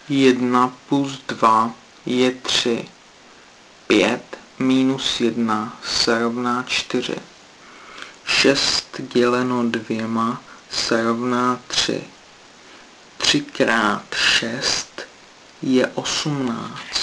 1 plus 2 je 3. 5 minus 1 se rovná 4. 6 děleno 2 se rovná 3. 3 krát 6 je 18.